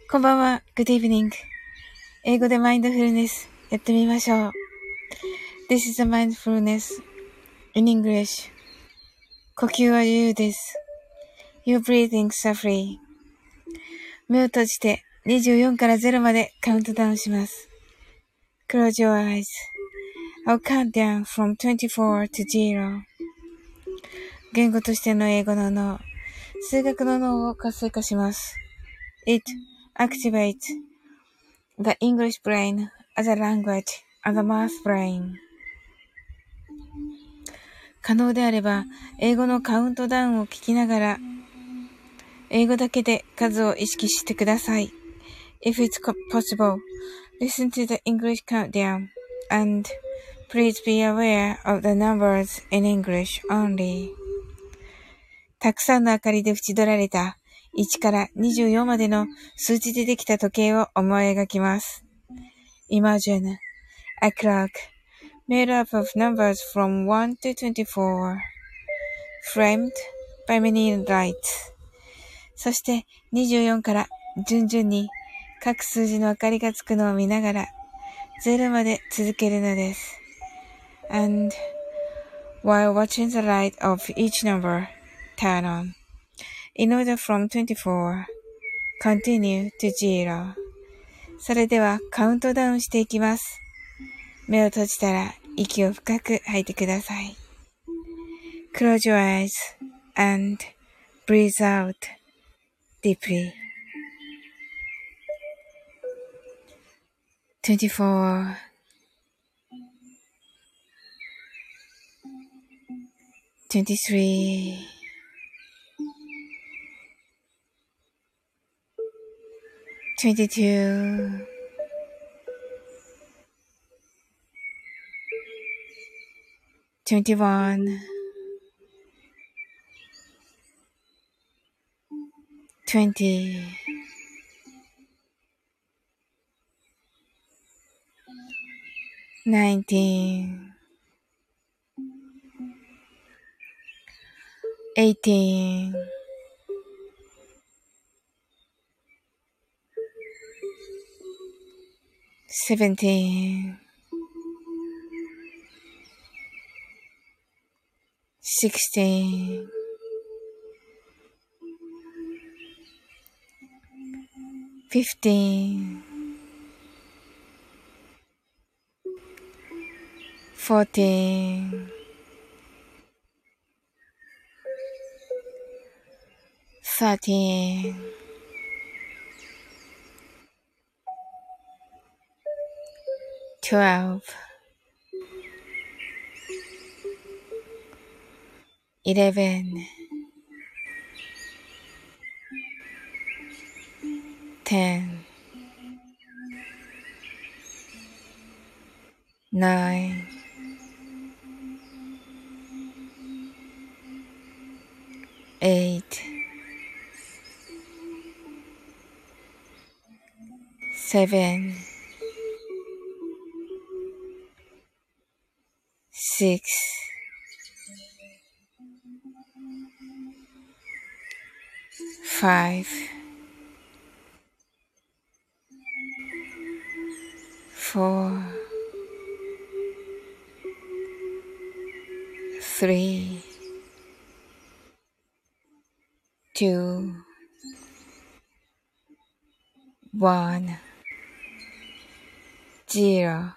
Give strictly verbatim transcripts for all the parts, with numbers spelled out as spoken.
こんばんは。Good evening. 英語でマインドフルネスやってみましょう。This is a mindfulness in English. 呼吸は自由です。Your breathing are free. 目を閉じてにじゅうよんからゼロまでカウントダウンします。Close your eyes. I'll count down from twenty-four to zero. 言語としての英語の脳、数学の脳を活性化します。It activates the English brain as a language and the math brain. 可能であれば、英語のカウントダウンを聞きながら、英語だけで数を意識してください。If it's possible, listen to the English countdown and please be aware of the numbers in English only. たくさんの明かりで縁取られたいちからにじゅうよんまでの数字でできた時計を思い描きます。Imagine a clock made up of numbers from one to twenty-four, framed by many lights. そしてにじゅうよんから順々に各数字の明かりがつくのを見ながらゼロまで続けるのです。And while watching the light of each number turn on, in order from twenty-four, continue to zero. それではカウントダウンしていきます。目を閉じたら息を深く吐いてください。Close your eyes and breathe out deeply. twenty-four, twenty-three, twenty-two, twenty-one, twenty, nineteen, eighteen, seventeen, sixteen, fifteen, fourteen, thirteen, twelve, eleven, ten, nine, eight, seven, six, five, four, three, two, one, zero.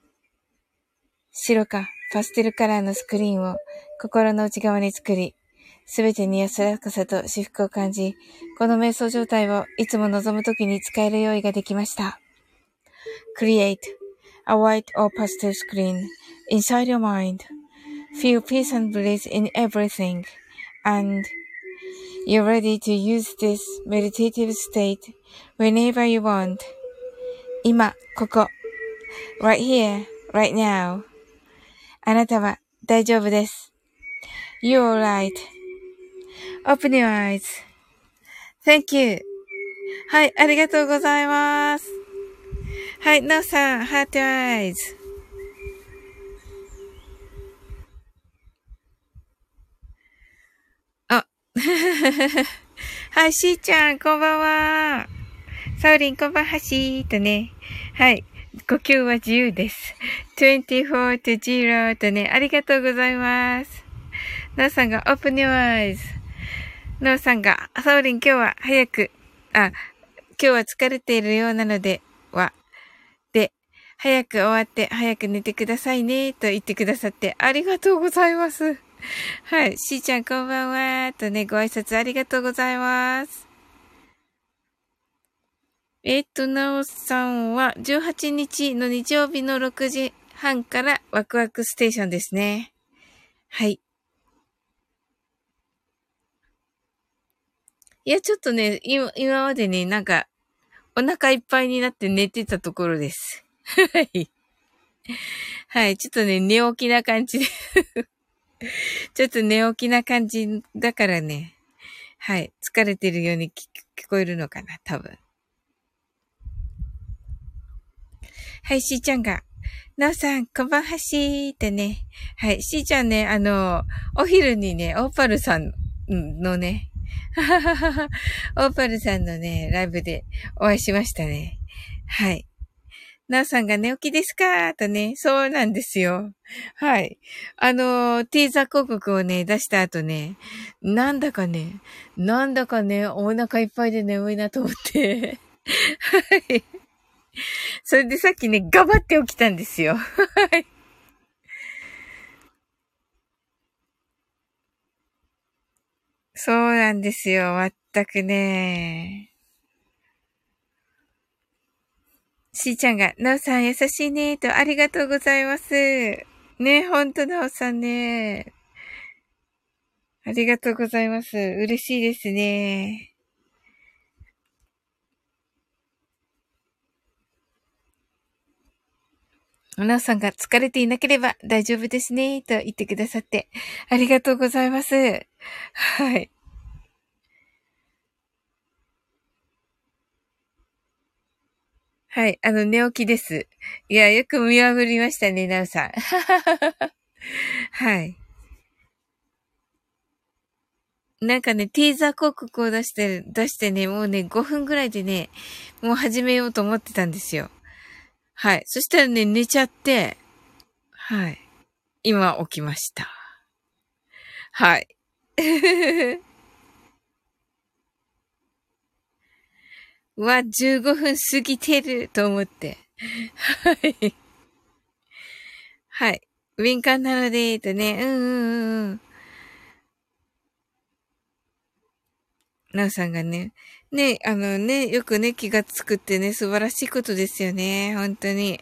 白かパステルカラーのスクリーンを心の内側に作り、すべてに安らかさと至福を感じ、この瞑想状態をいつも望むときに使える用意ができました。Create a white or pastel screen inside your mind. Feel peace and bliss in everything. And you're ready to use this meditative state whenever you want. 今、ここ。Right here, right now. あなたは大丈夫です。You're right.Open your eyes. Thank you. はい、ありがとうございます。はい、なおさん、Heart your eyes. あ、はい、しーちゃん、こんばんは。 サオリンこんばんはしーとね。はい。呼吸は自由です。にじゅうよんとゼロとね、ありがとうございます。なおさんが Open your eyes。なおさんが、サオリン今日は早く、あ、今日は疲れているようなのでは、で、早く終わって早く寝てくださいね、と言ってくださってありがとうございます。はい。しーちゃんこんばんは、とね、ご挨拶ありがとうございます。えっと、なおさんはじゅうはちにちの日曜日のろくじはんからワクワクステーションですね。はい。いや、ちょっとね、今、今までね、なんか、お腹いっぱいになって寝てたところです。はい。はい。ちょっとね、寝起きな感じでちょっと寝起きな感じだからね。はい。疲れてるように聞聞こえるのかな、多分。はい、しーちゃんが。なおさん、こんばんはしーってね。はい、しーちゃんね、あの、お昼にね、オーパルさんのね、オーパルさんのね、ライブでお会いしましたね。はい。なおさんが寝起きですかとね、そうなんですよ。はい。あの、ティーザー広告をね、出した後ね、なんだかね、なんだかね、お腹いっぱいで眠いなと思って。はい。それでさっきね、ガバって起きたんですよ。はい。そうなんですよ。まったくね。しーちゃんが、なおさん優しいねと、ありがとうございます。ね、ほんとなおさんね。ありがとうございます。嬉しいですね。なおさんが疲れていなければ大丈夫ですね、と言ってくださって、ありがとうございます。はい。はい。あの、寝起きです。いや、よく見破りましたね、なおさん。はい。なんかね、ティーザー広告を出して、出してね、もうね、ごふんぐらいでね、もう始めようと思ってたんですよ。はい。そしたらね、寝ちゃって、はい。今起きました。はい。うわ、じゅうごふん過ぎてると思って。はい。はい。敏感なので、とね、うんうんうん。なおさんがね、ね、あのね、よくね、気がつくってね、素晴らしいことですよね。本当に。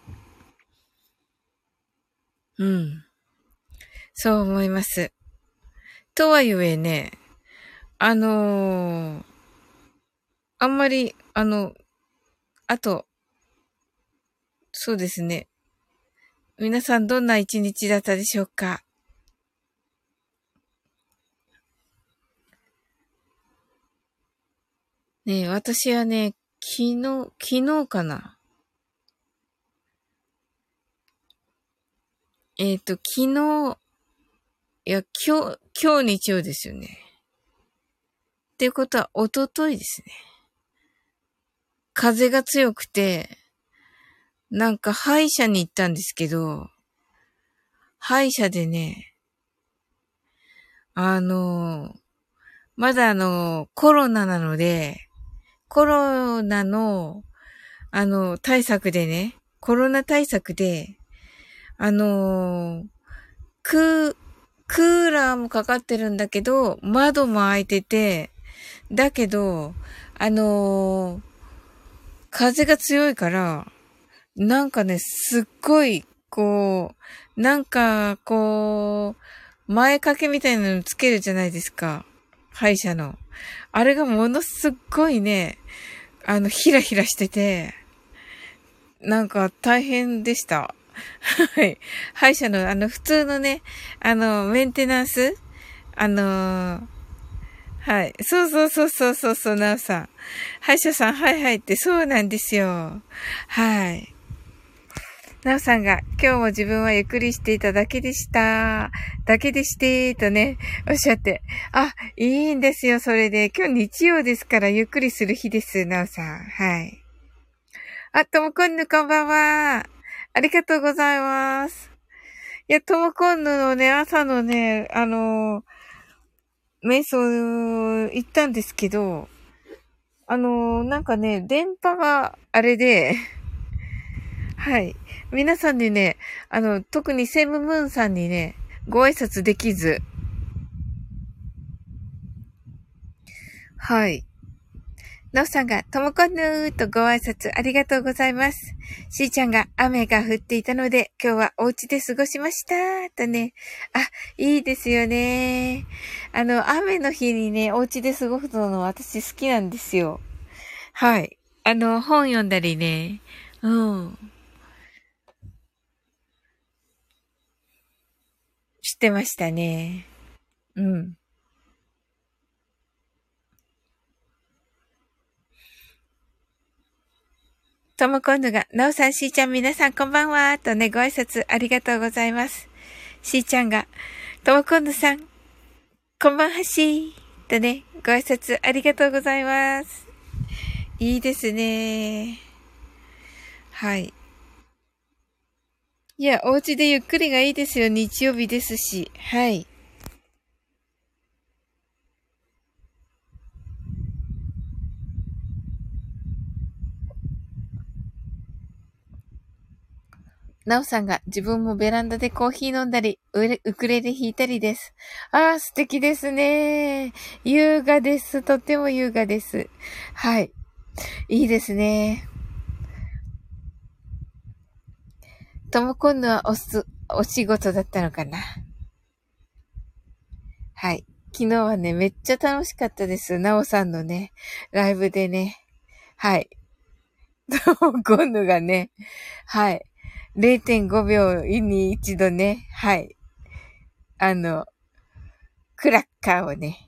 うん。そう思います。とはいえね、あのー、あんまり、あの、あと、そうですね。皆さんどんな一日だったでしょうか？ねえ、私はね、昨日、昨日かな。えっと、昨日、いや、今日、今日日曜ですよね。っていうことは、一昨日ですね。風が強くて、なんか歯医者に行ったんですけど、歯医者でね、あの、まだあの、コロナなので、コロナの、あの、対策でね、コロナ対策で、あの、クー、クーラーもかかってるんだけど、窓も開いてて、だけど、あのー風が強いから、なんかね、すっごい、こう、なんか、こう、前掛けみたいなのつけるじゃないですか。歯医者の。あれがものすっごいね、あの、ヒラヒラしてて、なんか大変でした。はい。歯医者の、あの、普通のね、あの、メンテナンスあのーはい。そうそうそうそうそうそう、なおさん。歯医者さん、はいはいって、そうなんですよ。はい。なおさんが、今日も自分はゆっくりしていただけでした。だけでして、とね、おっしゃって。あ、いいんですよ、それで。今日日曜ですから、ゆっくりする日です、なおさん。はい。 あ、ともこんぬこんばんは。ありがとうございます。いや、ともこんぬのね、朝のね、あのー、瞑想行ったんですけど、あのー、なんかね、電波があれで、はい。皆さんにね、あの、特にセムムーンさんにね、ご挨拶できず、はい。なおさんが、ともこんぬーとご挨拶ありがとうございます。しーちゃんが雨が降っていたので、今日はお家で過ごしましたーとね。あ、いいですよねー。あの、雨の日にね、お家で過ごすの私好きなんですよ。はい。あの、本読んだりね。うん。してましたね。うん。ともこんぬが、なおさん、しーちゃん、皆さんこんばんはとね、ご挨拶ありがとうございます。しーちゃんが、ともこんぬさん、こんばんはしーとね、ご挨拶ありがとうございます。いいですね。はい。いや、お家でゆっくりがいいですよ。日曜日ですし。はい。なおさんが自分もベランダでコーヒー飲んだり、ウレウクレレ弾いたりです。ああ、素敵ですね。優雅です。とっても優雅です。はい。いいですね。ともこんのはおす、お仕事だったのかな。はい。昨日はね、めっちゃ楽しかったです。なおさんのね、ライブでね。はい。ともこんのがね、はい。れいてんごびょうに一度ね、はい。あの、クラッカーをね、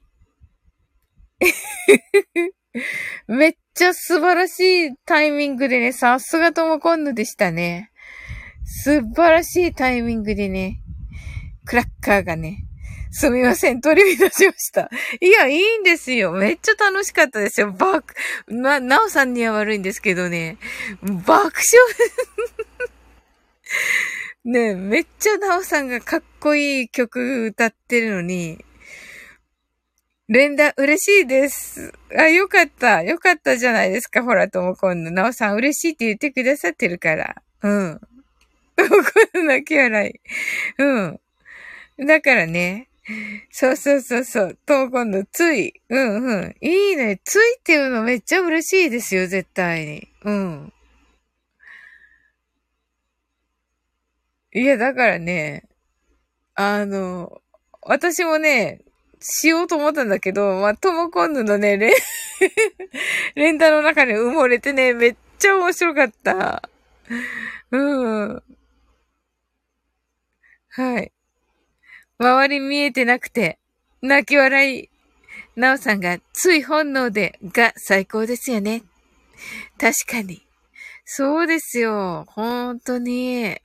めっちゃ素晴らしいタイミングでね、さすがともこんぬでしたね。素晴らしいタイミングでね、クラッカーがね、すみません、取り乱しました。いや、いいんですよ。めっちゃ楽しかったですよ。爆、な、なおさんには悪いんですけどね、爆笑ね、めっちゃなおさんがかっこいい曲歌ってるのに、連打嬉しいです。あ、よかった。よかったじゃないですか。ほら、ともこんの。なおさん嬉しいって言ってくださってるから。うん。ともこんの泣き笑い。うん。だからね。そうそうそうそう。ともこんのつい。うんうん。いいね。ついっていうのめっちゃ嬉しいですよ。絶対に。うん。いや、だからね。あの、私もね、しようと思ったんだけど、まあ、ともこんぬのね、連、連打の中に埋もれてね、めっちゃ面白かった。うん。はい。周り見えてなくて、泣き笑い。なおさんが、つい本能で、が最高ですよね。確かに。そうですよ。本当に。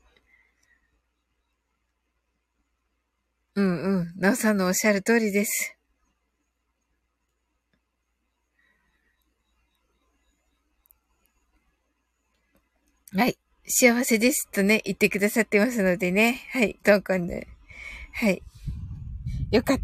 うんうん。なおさんのおっしゃる通りです。はい。幸せですとね、言ってくださってますのでね。はい。どうかね。はい。よかった。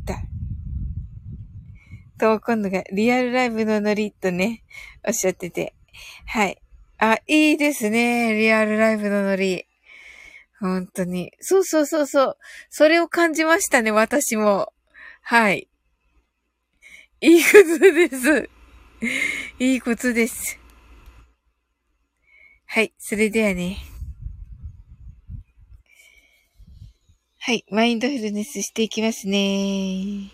と、今度がリアルライブのノリとね、おっしゃってて。はい。あ、いいですね。リアルライブのノリ。本当に。そうそうそうそう。それを感じましたね、私も。はい。いいことです。いいことです。はい。それではね。はい。マインドフルネスしていきますね。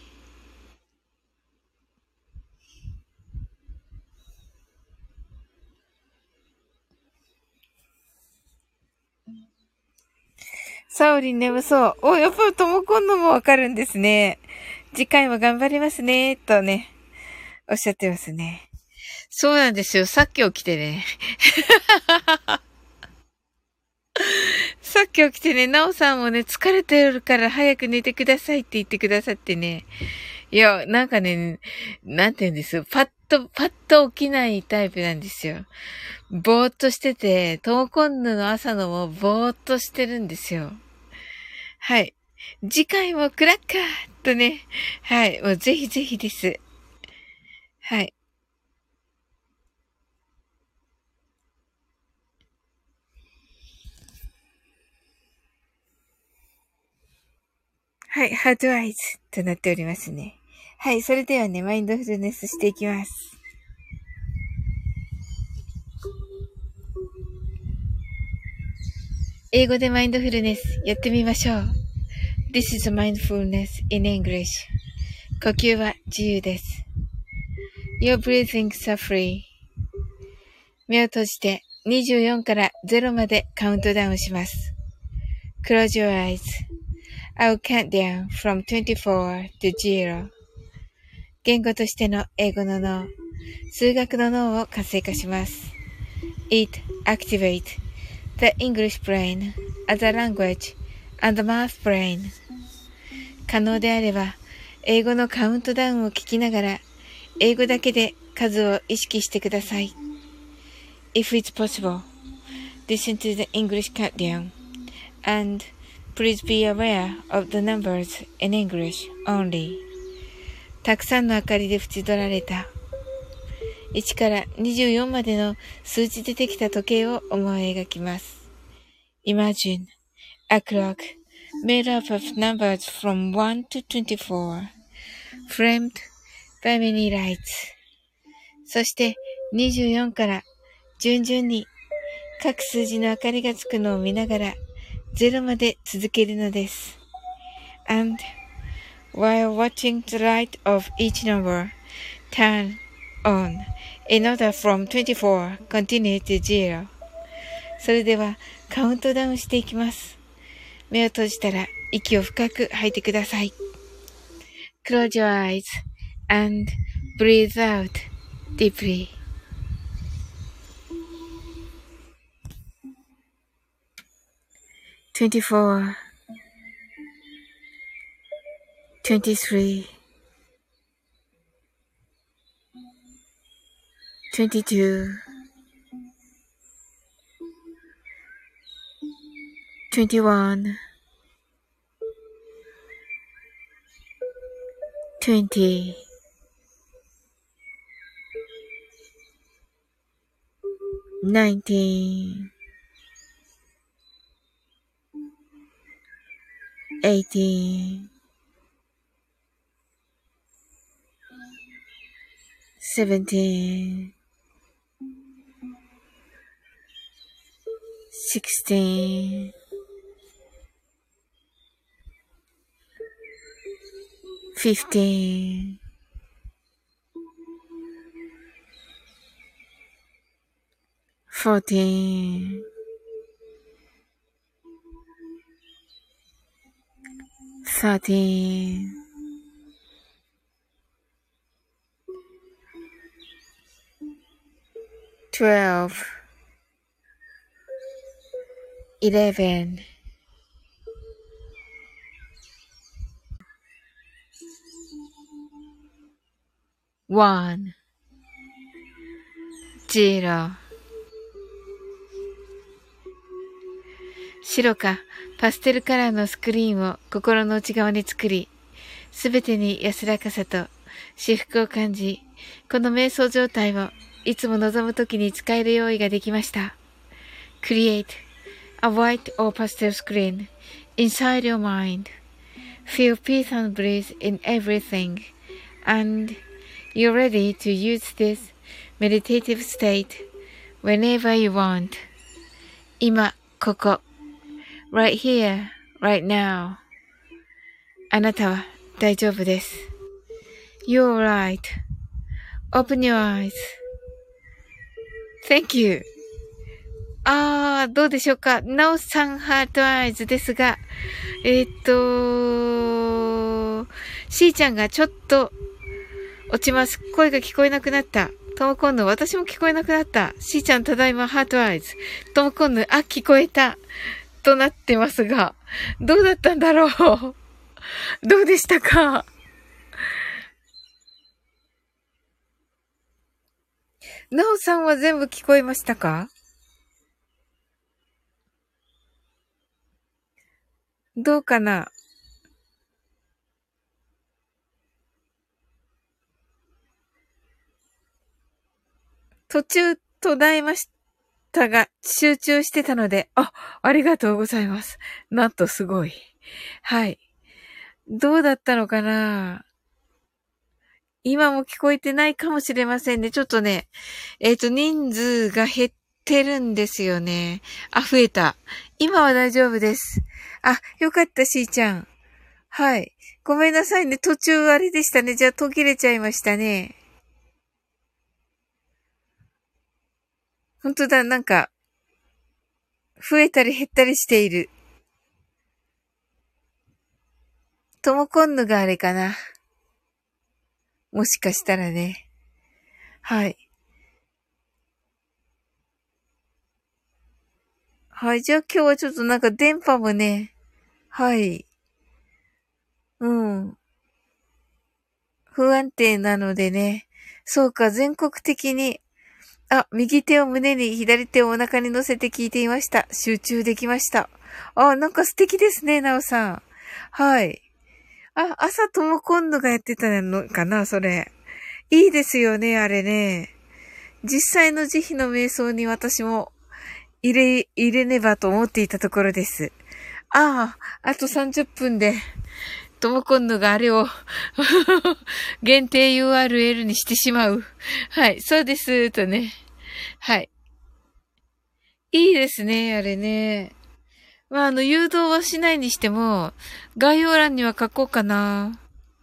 サオリン眠そう。お、やっぱりともこんのもわかるんですね。次回も頑張りますね、とね、おっしゃってますね。そうなんですよ。さっき起きてね。さっき起きてね、なおさんもね、疲れてるから早く寝てくださいって言ってくださってね。 いや、なんかね、なんて言うんですよ。パッと、パッと起きないタイプなんですよ。ぼーっとしてて、トーコンヌの朝のもぼーっとしてるんですよ。はい。次回もクラッカーとね。はい。もうぜひぜひです。はい。はい。ハートアイズとなっておりますね。はい。それではね、マインドフルネスしていきます。英語でマインドフルネスやってみましょう。This is mindfulness in English. 呼吸は自由です。Your breathings are free. 目を閉じてにじゅうよんからゼロまでカウントダウンします。Close your eyes.I'll count down from twenty-four to zero. 言語としての英語の脳、数学の脳を活性化します。It activates the English brain as a language and the math brain. 可能であれば、英語のカウントダウンを聞きながら、英語だけで数を意識してください。If it's possible, listen to the English countdown and...Please be aware of the numbers in English only. たくさんの明かりで縁取られたいちからにじゅうよんまでの数字でできた時計を思い描きます。Imagine a clock made up of numbers from one to twenty-four, framed by many lights. そしてにじゅうよんから順々に各数字の明かりがつくのを見ながらゼロまで続けるのです。And while watching the light of each number turn on in order from twenty-four continue to zero. それではカウントダウンしていきます。目を閉じたら息を深く吐いてください。Close your eyes and breathe out deeply. twenty-four, twenty-three, twenty-two, twenty-one, twenty, nineteen, eighteen, seventeen, sixteen, fifteen, fourteen, thirteen, twelve, eleven, one, zero. 白かパステルカラーのスクリーンを心の内側に作り、すべてに安らかさと至福を感じ、この瞑想状態をいつも望むときに使える用意ができました。Create a white or pastel screen inside your mind. Feel peace and bliss in everything. And you're ready to use this meditative state whenever you want. 今、ここ。Right here, right now. あなたは大丈夫です。You're right. Open your eyes. Thank you. あー、どうでしょうか。なおさんハートアイズですが、えー、っと、しーちゃんがちょっと落ちます。声が聞こえなくなった。ともこんぬ、私も聞こえなくなった。しーちゃんただいまハートアイズ。ともこんぬ、あ、聞こえた。となってますが、どうだったんだろう。どうでしたか。 なおさんは全部聞こえましたか？どうかな？途中途絶えましたが、集中してたので、あ、ありがとうございます。なんとすごい。はい。どうだったのかな？今も聞こえてないかもしれませんね。ちょっとね、えっと、人数が減ってるんですよね。あ、増えた。今は大丈夫です。あ、よかった、しーちゃん。はい。ごめんなさいね。途中あれでしたね。じゃあ途切れちゃいましたね。ほんとだ、なんか、増えたり減ったりしている。ともこんぬがあれかな。もしかしたらね。はい。はい。じゃあ今日はちょっとなんか電波もね。はい。うん。不安定なのでね。そうか、全国的に。あ、右手を胸に、左手をお腹に乗せて聞いていました。集中できました。あ、なんか素敵ですね、なおさん。はい。あ、朝とも今度がやってたのかな、それ。いいですよね、あれね。実際の慈悲の瞑想に私も入れ、入れねばと思っていたところです。ああ、あとさんじゅっぷんで、とも今度があれを限定 ユーアールエル にしてしまう。はい、そうです、とね。はい。いいですね、あれね。まあ、あの、誘導はしないにしても、概要欄には書こうかな。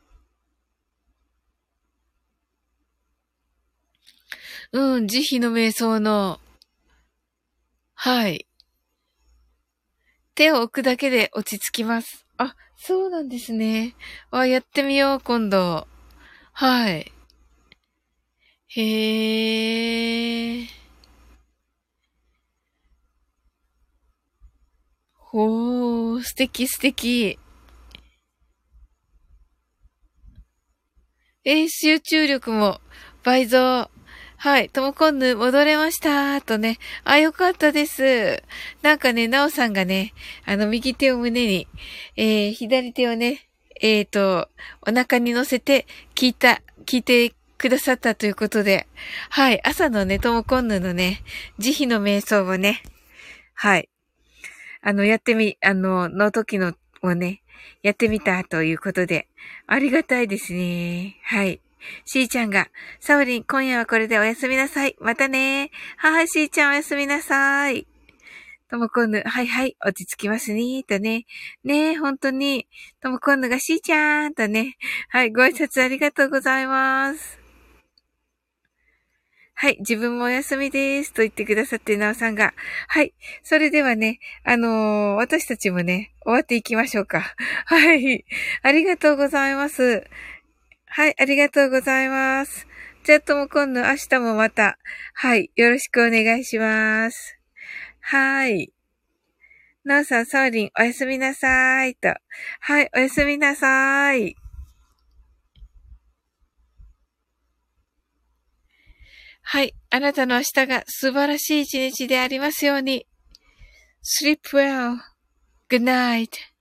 うん、慈悲の瞑想の、はい。手を置くだけで落ち着きます。あ、そうなんですね。あ、やってみよう、今度。はい。へえ。ほー、素敵素敵。えー、集中力も倍増。はい。ともこんぬ戻れましたとね。あ、よかったです。なんかね、なおさんがね、あの、右手を胸に、えー、左手をね、えーと、お腹に乗せて聞いた、聞いてくださったということで、はい。朝のね、ともこんぬのね、慈悲の瞑想をね、はい。あの、やってみ、あの、の時のをね、やってみたということで、ありがたいですね。はい。しーちゃんが、サオリン、今夜はこれでおやすみなさい。またね。はい、しーちゃんおやすみなさい。ともこんぬ、はいはい、落ち着きますね、とね。ねえ、本当に、ともこんぬがしーちゃん、とね。はい、ご挨拶ありがとうございます。はい、自分もお休みです。と言ってくださって、なおさんが。はい。それではね、あのー私たちもね、終わっていきましょうか。はい。ありがとうございます。はい、ありがとうございます。じゃあとも今度明日もまた、はい、よろしくお願いします。はい。なおさん、サウリン、おやすみなさい。と。はい、おやすみなさい。はい。あなたの明日が素晴らしい一日でありますように。Sleep well. Good night.